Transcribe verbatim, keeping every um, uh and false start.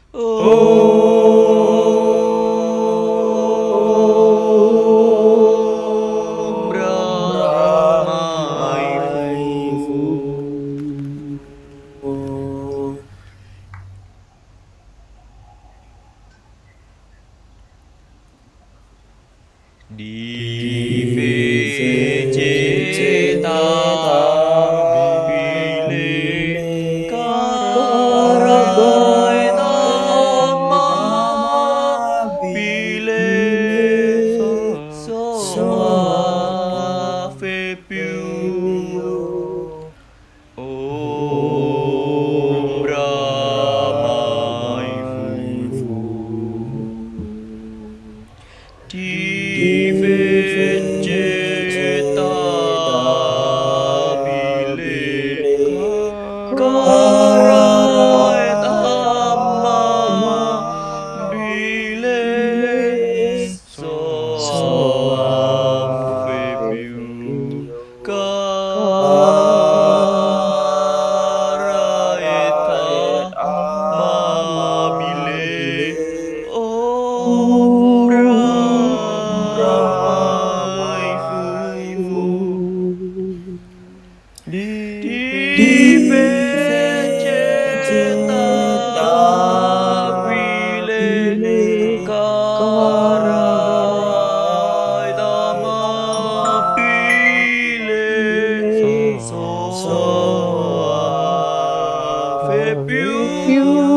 Om Ramai Fu. Di Vegeta Bile Karai Dhamma Bile Soa Fepiu Om Ramai Fu. Di Vegeta Bile Karai Dhamma Bile Soa Fepiu Karai Dhamma Bile Om Ramai Fu. Di Vegeta Bile Karai Dhamma Bile Soa Fepiu